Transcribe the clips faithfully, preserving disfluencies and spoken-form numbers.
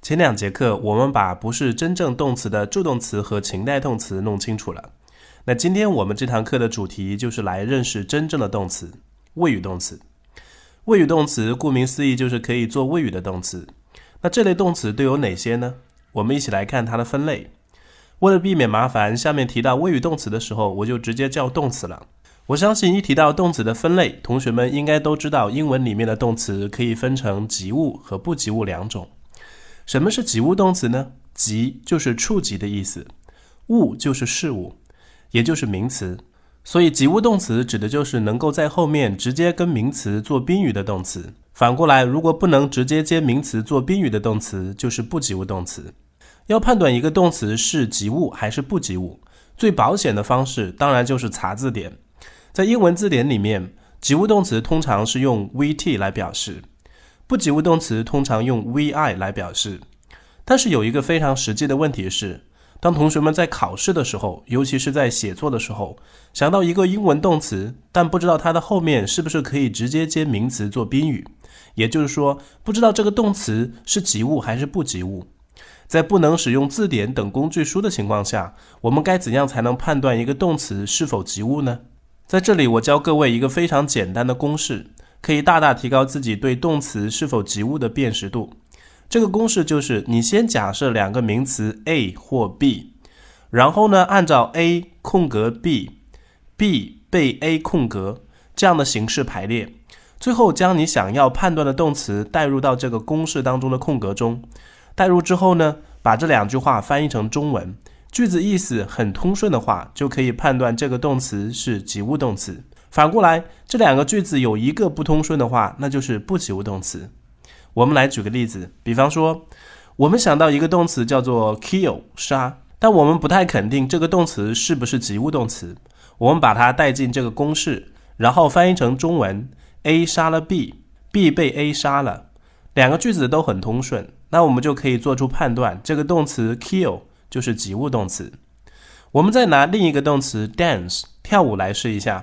前两节课我们把不是真正动词的助动词和情代动词弄清楚了。那今天我们这堂课的主题就是来认识真正的动词，谓语动词。谓语动词顾名思义就是可以做谓语的动词。那这类动词都有哪些呢？我们一起来看它的分类。为了避免麻烦，下面提到谓语动词的时候，我就直接叫动词了。我相信一提到动词的分类，同学们应该都知道英文里面的动词可以分成及物和不及物两种。什么是及物动词呢？及就是触及的意思，物就是事物，也就是名词。所以及物动词指的就是能够在后面直接跟名词做宾语的动词。反过来，如果不能直接接名词做宾语的动词，就是不及物动词。要判断一个动词是及物还是不及物，最保险的方式当然就是查字典。在英文字典里面，及物动词通常是用 V T 来表示，不及物动词通常用 V I 来表示。但是有一个非常实际的问题是，当同学们在考试的时候，尤其是在写作的时候，想到一个英文动词，但不知道它的后面是不是可以直接接名词做宾语，也就是说，不知道这个动词是及物还是不及物。在不能使用字典等工具书的情况下，我们该怎样才能判断一个动词是否及物呢？在这里我教各位一个非常简单的公式，可以大大提高自己对动词是否及物的辨识度。这个公式就是你先假设两个名词 A 或 B， 然后呢按照 A 空格 B， B 被 A 空格这样的形式排列，最后将你想要判断的动词带入到这个公式当中的空格中。带入之后呢，把这两句话翻译成中文，句子意思很通顺的话，就可以判断这个动词是及物动词。反过来，这两个句子有一个不通顺的话，那就是不及物动词。我们来举个例子，比方说，我们想到一个动词叫做 kill 杀，但我们不太肯定这个动词是不是及物动词。我们把它带进这个公式，然后翻译成中文 A 杀了 B， B 被 A 杀了，两个句子都很通顺，那我们就可以做出判断，这个动词 kill 就是及物动词。我们再拿另一个动词 dance 跳舞来试一下，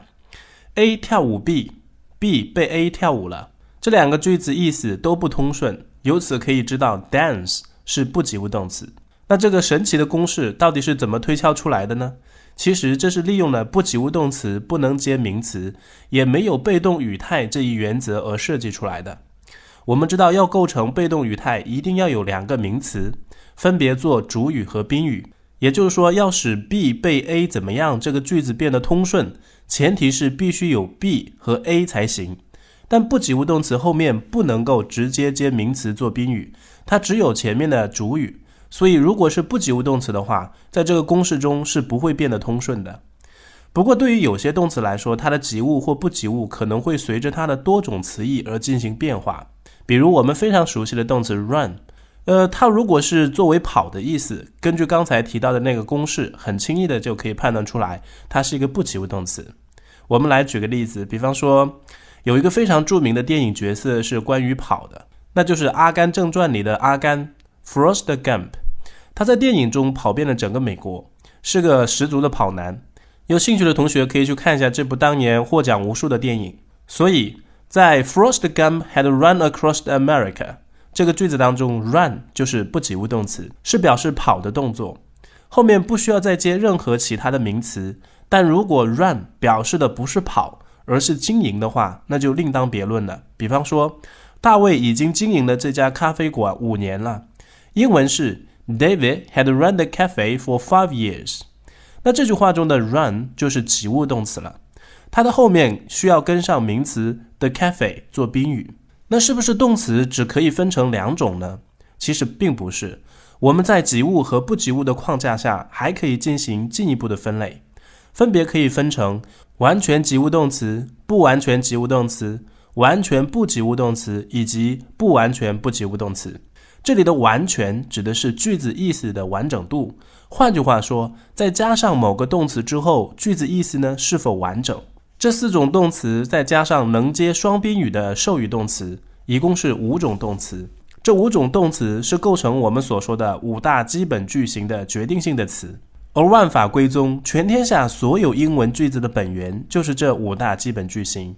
A 跳舞 B， B 被 A 跳舞了，这两个句子意思都不通顺，由此可以知道 dance 是不及物动词。那这个神奇的公式到底是怎么推敲出来的呢？其实这是利用了不及物动词不能接名词，也没有被动语态这一原则而设计出来的。我们知道要构成被动语态一定要有两个名词，分别做主语和宾语，也就是说要使 B 被 A 怎么样这个句子变得通顺，前提是必须有 B 和 A 才行。但不及物动词后面不能够直接接名词做宾语，它只有前面的主语，所以如果是不及物动词的话，在这个公式中是不会变得通顺的。不过对于有些动词来说，它的及物或不及物可能会随着它的多种词义而进行变化。比如我们非常熟悉的动词 run， 呃，它如果是作为跑的意思，根据刚才提到的那个公式，很轻易的就可以判断出来，它是一个不及物动词。我们来举个例子，比方说有一个非常著名的电影角色是关于跑的，那就是《阿甘正传》里的阿甘 Forrest Gump。 他在电影中跑遍了整个美国，是个十足的跑男。有兴趣的同学可以去看一下这部当年获奖无数的电影。所以在 Forrest Gump had run across America 这个句子当中， run 就是不及物动词，是表示跑的动作，后面不需要再接任何其他的名词。但如果 run 表示的不是跑，而是经营的话，那就另当别论了。比方说，大卫已经经营了这家咖啡馆五年了，英文是 David had run the cafe for five years。 那这句话中的 run 就是及物动词了，它的后面需要跟上名词 the cafe 做宾语。那是不是动词只可以分成两种呢？其实并不是，我们在及物和不及物的框架下还可以进行进一步的分类，分别可以分成完全及物动词、不完全及物动词、完全不及物动词以及不完全不及物动词。这里的完全指的是句子意思的完整度，换句话说，再加上某个动词之后，句子意思呢是否完整。这四种动词再加上能接双宾语的授予动词，一共是五种动词。这五种动词是构成我们所说的五大基本句型的决定性的词。而万法归宗，全天下所有英文句子的本源就是这五大基本句型。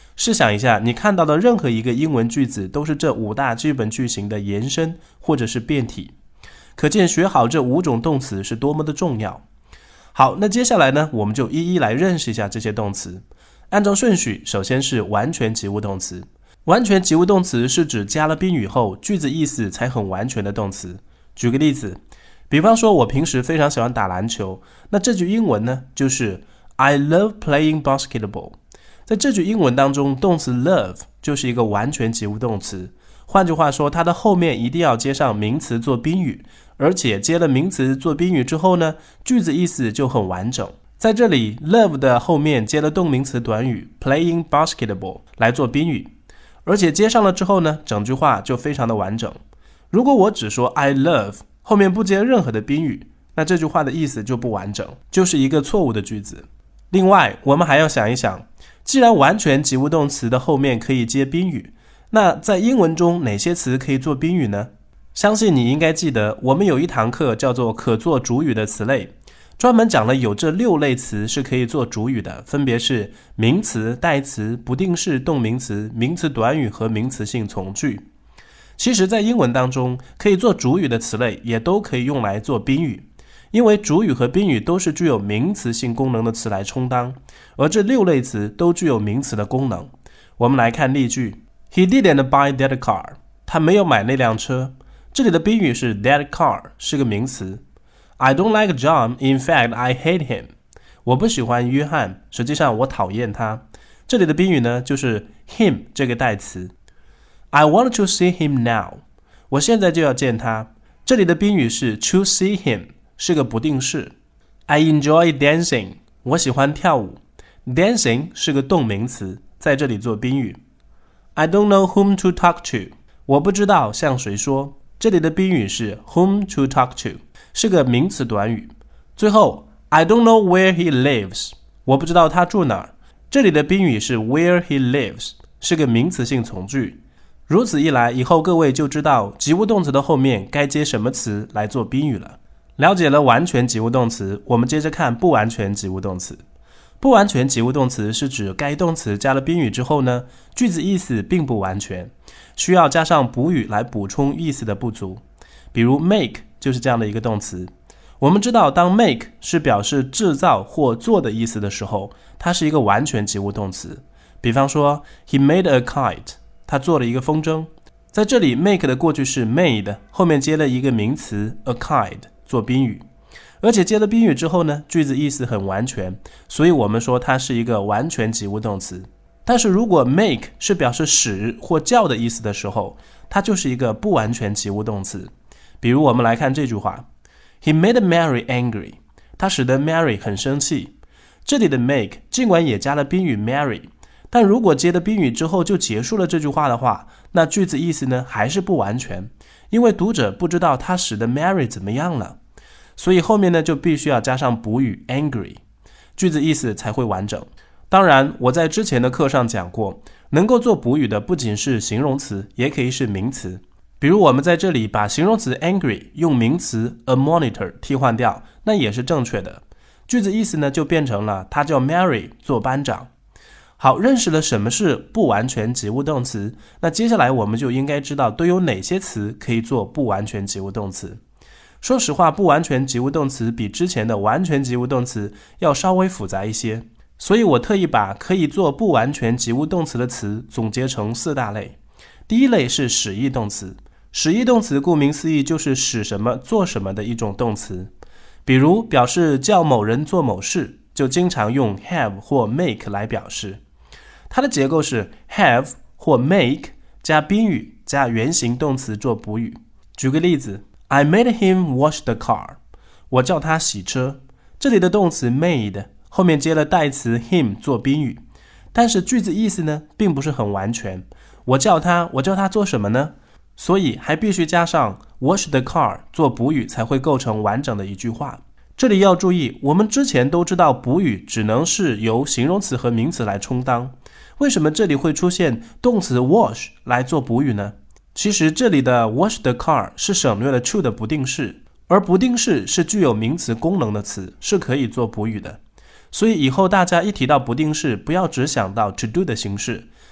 试想一下，你看到的任何一个英文句子都是这五大基本句型的延伸或者是变体，可见学好这五种动词是多么的重要。好，那接下来呢，我们就一一来认识一下这些动词。按照顺序，首先是完全及物动词。完全及物动词是指加了宾语后，句子意思才很完全的动词。举个例子，比方说我平时非常喜欢打篮球，那这句英文呢，就是 I love playing basketball。在这句英文当中，动词 love 就是一个完全及物动词，换句话说，它的后面一定要接上名词做宾语，而且接了名词做宾语之后呢，句子意思就很完整。在这里 love 的后面接了动名词短语 playing basketball 来做宾语，而且接上了之后呢，整句话就非常的完整。如果我只说 I love 后面不接任何的宾语，那这句话的意思就不完整，就是一个错误的句子。另外，我们还要想一想，既然完全及物动词的后面可以接宾语，那在英文中哪些词可以做宾语呢？相信你应该记得，我们有一堂课叫做可做主语的词类，专门讲了有这六类词是可以做主语的，分别是名词、代词、不定式动名词、名词短语和名词性从句。其实在英文当中，可以做主语的词类也都可以用来做宾语，因为主语和宾语都是具有名词性功能的词来充当，而这六类词都具有名词的功能。我们来看例句 He didn't buy that car. 他没有买那辆车。这里的宾语是 that car 是个名词。I don't like John. In fact, I hate him. 我不喜欢约翰，实际上我讨厌他。这里的宾语呢，就是 him 这个代词。I want to see him now. 我现在就要见他。这里的宾语是 to see him， 是个不定式。I enjoy dancing. 我喜欢跳舞。Dancing 是个动名词，在这里做宾语。I don't know whom to talk to. 我不知道向谁说。这里的宾语是 whom to talk to， 是个名词短语。最后 I don't know where he lives. 我不知道他住哪儿。这里的宾语是 where he lives， 是个名词性从句。如此一来，以后各位就知道及物动词的后面该接什么词来做宾语了。了解了完全及物动词，我们接着看不完全及物动词。不完全及物动词是指该动词加了宾语之后呢，句子意思并不完全，需要加上补语来补充意思的不足。比如 make 就是这样的一个动词。我们知道当 make 是表示制造或做的意思的时候，它是一个完全及物动词。比方说 He made a kite， 他做了一个风筝。在这里 make 的过去式 made 后面接了一个名词 a kite 做宾语，而且接了宾语之后呢，句子意思很完全，所以我们说它是一个完全及物动词。但是如果 make 是表示使或叫的意思的时候，它就是一个不完全及物动词。比如我们来看这句话 He made Mary angry， 他使得 Mary 很生气。这里的 make 尽管也加了宾语 Mary， 但如果接了宾语之后就结束了这句话的话，那句子意思呢还是不完全，因为读者不知道他使得 Mary 怎么样了，所以后面呢就必须要加上补语 angry， 句子意思才会完整。当然我在之前的课上讲过，能够做补语的不仅是形容词，也可以是名词。比如我们在这里把形容词 angry 用名词 a monitor 替换掉，那也是正确的。句子意思呢就变成了他叫 Mary 做班长。好，认识了什么是不完全及物动词，那接下来我们就应该知道都有哪些词可以做不完全及物动词。说实话，不完全及物动词比之前的完全及物动词要稍微复杂一些，所以我特意把可以做不完全及物动词的词总结成四大类。第一类是使役动词。使役动词顾名思义就是使什么做什么的一种动词。比如表示叫某人做某事，就经常用 have 或 make 来表示。它的结构是 have 或 make 加宾语加原形动词做补语。举个例子 I made him wash the car， 我叫他洗车。这里的动词 made 后面接了代词 him 做宾语，但是句子意思呢并不是很完全。我叫他我叫他做什么呢？所以还必须加上 wash the car 做补语才会构成完整的一句话。这里要注意，我们之前都知道补语只能是由形容词和名词来充当，为什么这里会出现动词 wash 来做补语呢？其实这里的 wash the car 是省略了 to 的不定式，而不定式是具有名词功能的词，是可以做补语的。所以以后大家一提到不定式，不要只想到 to do 的形式，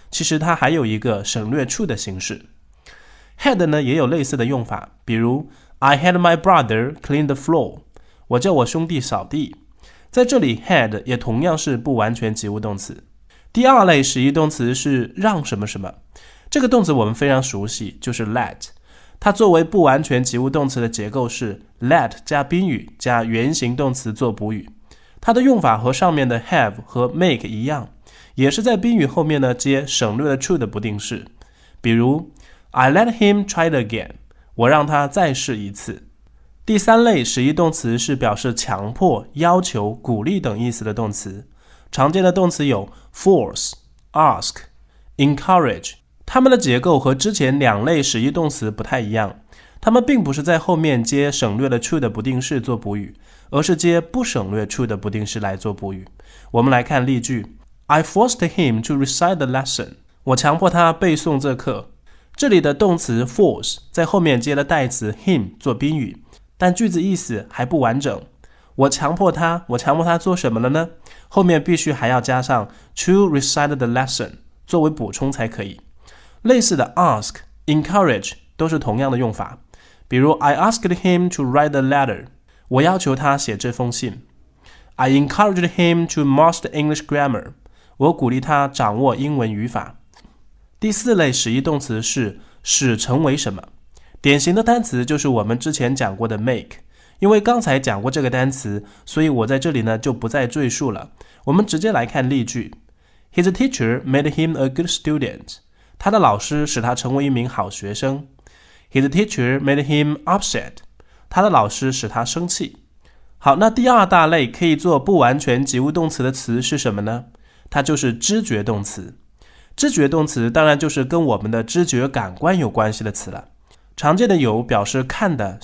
其实它还有一个省略处的形式。had 呢也有类似的用法，比如 I had my brother clean the floor， 我叫我兄弟扫地。在这里 had 也同样是不完全及物动词。第二类实义动词是让什么什么，这个动词我们非常熟悉，就是 let。 它作为不完全及物动词的结构是 let 加宾语加原形动词做补语。它的用法和上面的 have 和 make 一样，也是在宾语后面呢接省略了 to 的不定式。比如 I let him try it again， 我让他再试一次。第三类实义动词是表示强迫、要求、鼓励等意思的动词。常见的动词有 force、ask、encourage， 它们的结构和之前两类实义动词不太一样，它们并不是在后面接省略了 to 的不定式做补语，而是接不省略 to 的不定式来做补语。我们来看例句 I forced him to recite the lesson， 我强迫他背诵这课。这里的动词 force 在后面接了代词 him 做宾语，但句子意思还不完整。我强迫他，我强迫他做什么了呢？后面必须还要加上 to recite the lesson 作为补充才可以。类似的 ask、encourage 都是同样的用法。比如 I asked him to write the letter， 我要求他写这封信。I encouraged him to master English grammar， 我鼓励他掌握英文语法。第四类实义动词是使成为什么，典型的单词就是我们之前讲过的 make。因为刚才讲过这个单词，所以我在这里呢就不再赘述了。我们直接来看例句 His teacher made him a good student， 他的老师使他成为一名好学生。His teacher made him upset， 他的老师使他生气。好，那第二大类可以做不完全及物动词的词是什么呢？它就是知觉动词。知觉动词当然就是跟我们的知觉感官有关系的词了。常见的有表示看的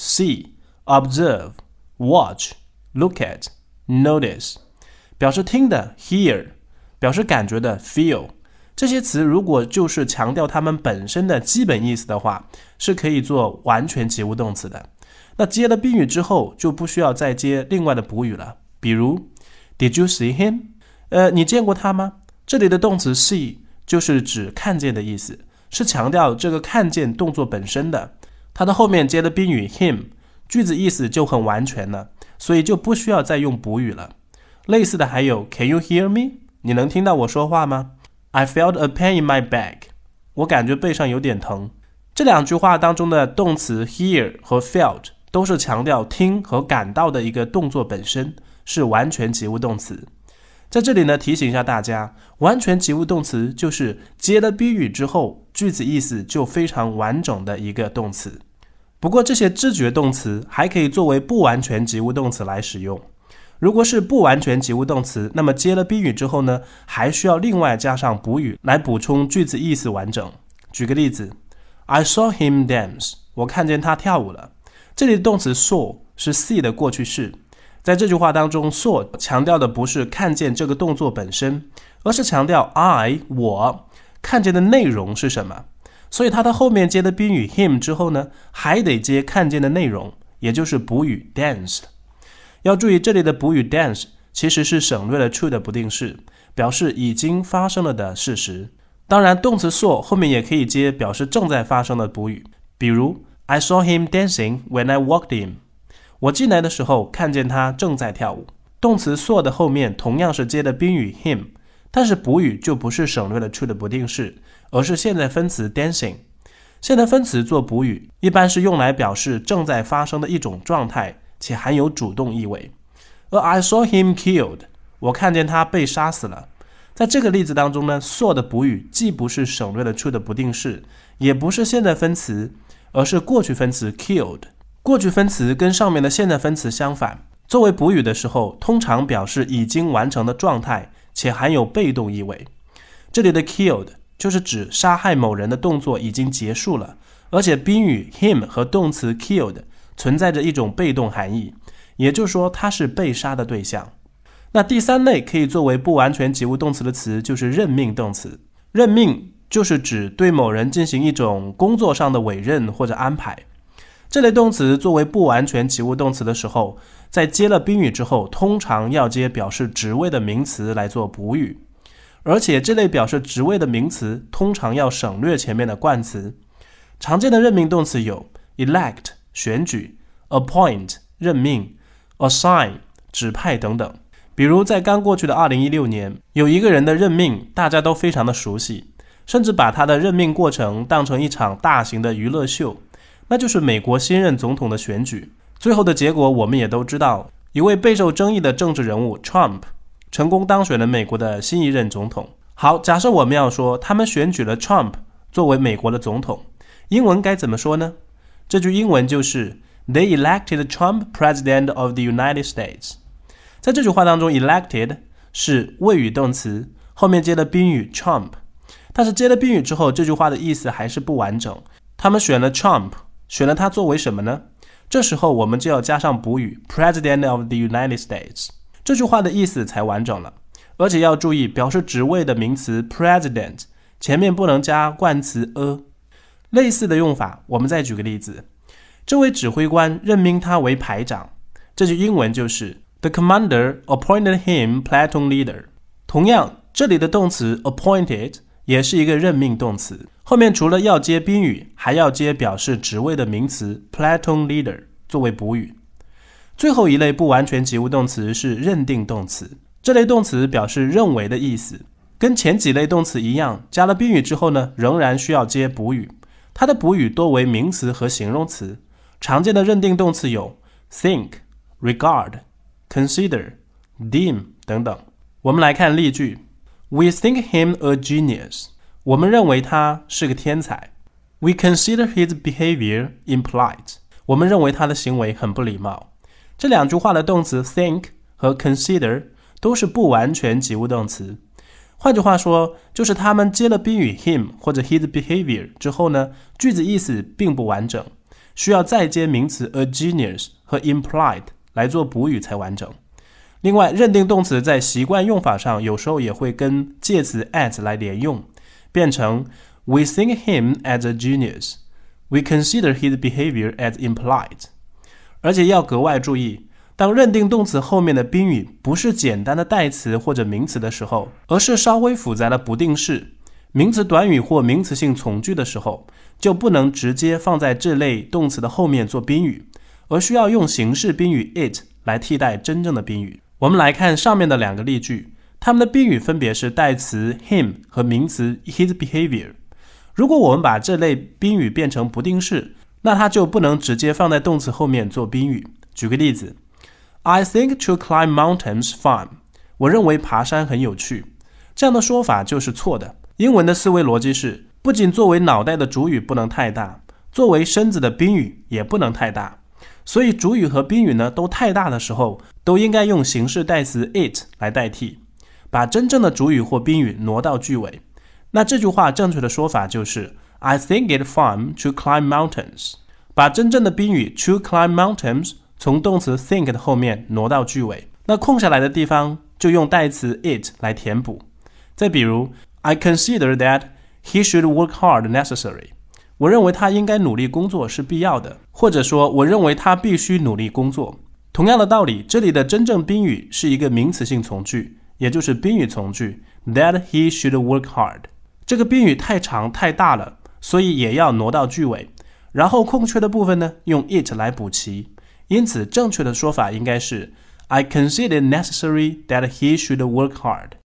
see、observe、watch、look at、notice， 表示听的 hear， 表示感觉的 feel。 这些词如果就是强调它们本身的基本意思的话，是可以做完全及物动词的。那接了宾语之后就不需要再接另外的补语了。比如 Did you see him？ 呃，你见过他吗？这里的动词 see 就是指看见的意思，是强调这个看见动作本身的。它的后面接了宾语 him，句子意思就很完全了，所以就不需要再用补语了。类似的还有 Can you hear me？ 你能听到我说话吗？ I felt a pain in my back， 我感觉背上有点疼。这两句话当中的动词 hear 和 felt 都是强调听和感到的一个动作本身，是完全及物动词。在这里呢，提醒一下大家，完全及物动词就是接了宾语之后，句子意思就非常完整的一个动词。不过这些知觉动词还可以作为不完全及物动词来使用。如果是不完全及物动词，那么接了宾语之后呢，还需要另外加上补语来补充句子意思完整。举个例子 I saw him dance， 我看见他跳舞了。这里的动词 saw 是 see 的过去式。在这句话当中 saw 强调的不是看见这个动作本身，而是强调 I 我看见的内容是什么。所以它的后面接的宾语 him 之后呢，还得接看见的内容，也就是补语 dance。 要注意这里的补语 dance 其实是省略了 to 的不定式，表示已经发生了的事实。当然动词 saw 后面也可以接表示正在发生的补语，比如 I saw him dancing when I walked in， 我进来的时候看见他正在跳舞。动词 saw 的后面同样是接的宾语 him， 但是补语就不是省略了 to 的不定式，而是现在分词 dancing。 现在分词做补语一般是用来表示正在发生的一种状态，且含有主动意味。而 I saw him killed， 我看见他被杀死了。在这个例子当中呢， saw 的补语既不是省略了 to 的不定式，也不是现在分词，而是过去分词 killed。 过去分词跟上面的现在分词相反，作为补语的时候通常表示已经完成的状态，且含有被动意味。这里的 killed 就是指杀害某人的动作已经结束了，而且宾语 him 和动词 killed 存在着一种被动含义，也就是说他是被杀的对象。那第三类可以作为不完全及物动词的词就是任命动词。任命就是指对某人进行一种工作上的委任或者安排。这类动词作为不完全及物动词的时候，在接了宾语之后，通常要接表示职位的名词来做补语。 而且这类表示职位的名词通常要省略前面的冠词。常见的任命动词有 elect 选举、appoint 任命、assign 指派等等。比如在刚过去的二零一六年，有一个人的任命大家都非常的熟悉，甚至把他的任命过程当成一场大型的娱乐秀，那就是美国新任总统的选举。最后的结果我们也都知道，一位备受争议的政治人物 Trump 成功当选了美国的新一任总统。好，假设我们要说他们选举了 Trump 作为美国的总统，英文该怎么说呢？这句英文就是 They elected Trump President of the United States。 在这句话当中 elected 是谓语动词，后面接了宾语 Trump， 但是接了宾语之后，这句话的意思还是不完整。他们选了 Trump， 选了他作为什么呢？这时候我们就要加上补语 President of the United States， 这句话的意思才完整了。而且要注意，表示职位的名词 President 前面不能加冠词 a。 类似的用法，我们再举个例子，这位指挥官任命他为排长，这句英文就是 The commander appointed him platoon leader。 同样，这里的动词 appointed 也是一个任命动词，后面除了要接宾语，还要接表示职位的名词 platoon leader 作为补语。最后一类不完全及物动词是认定动词，这类动词表示认为的意思，跟前几类动词一样，加了宾语之后呢，仍然需要接补语。它的补语多为名词和形容词。常见的认定动词有 think、regard、consider、deem 等等。我们来看例句 We think him a genius。 我们认为他是个天才。 We consider his behavior impolite。 我们认为他的行为很不礼貌。这两句话的动词 think 和 consider 都是不完全及物动词。换句话说，就是他们接了宾语 him 或者 his behavior 之后呢，句子意思并不完整，需要再接名词 a genius 和 implied 来做补语才完整。另外，认定动词在习惯用法上有时候也会跟介词 at 来连用，变成 We think him as a genius。 We consider his behavior as implied。 而且要格外注意，当认定动词后面的宾语不是简单的代词或者名词的时候，而是稍微复杂的不定式、名词短语或名词性从句的时候，就不能直接放在这类动词的后面做宾语，而需要用形式宾语 it 来替代真正的宾语。我们来看上面的两个例句，它们的宾语分别是代词 him 和名词 his behavior。 如果我们把这类宾语变成不定式，那它就不能直接放在动词后面做宾语。举个例子， I think to climb mountains fun。 我认为爬山很有趣。这样的说法就是错的。英文的思维逻辑是，不仅作为脑袋的主语不能太大，作为身子的宾语也不能太大。所以主语和宾语呢都太大的时候，都应该用形式代词 it 来代替，把真正的主语或宾语挪到句尾。那这句话正确的说法就是 I think it fun to climb mountains。 把真正的宾语 to climb mountains 从动词 think 的后面挪到句尾，那空下来的地方就用代词 it 来填补。再比如 I consider that he should work hard necessary。 我认为他应该努力工作是必要的，或者说我认为他必须努力工作。同样的道理，这里的真正宾语是一个名词性从句，也就是宾语从句 that he should work hard。 这个宾语太长太大了，所以也要挪到句尾，然后空缺的部分呢用 it 来补齐。因此正确的说法应该是 I consider it necessary that he should work hard。